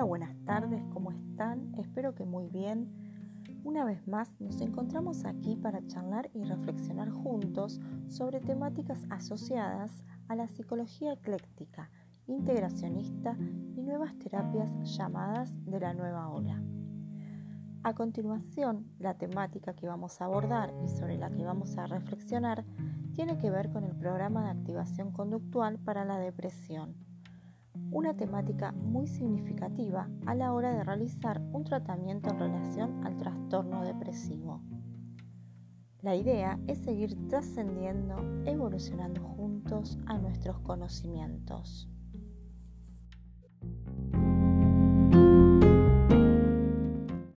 Hola, buenas tardes, ¿cómo están? Espero que muy bien. Una vez más nos encontramos aquí para charlar y reflexionar juntos sobre temáticas asociadas a la psicología ecléctica, integracionista y nuevas terapias llamadas de la nueva ola. A continuación, la temática que vamos a abordar y sobre la que vamos a reflexionar tiene que ver con el programa de activación conductual para la depresión, una temática muy significativa a la hora de realizar un tratamiento en relación al trastorno depresivo. La idea es seguir trascendiendo, evolucionando juntos a nuestros conocimientos.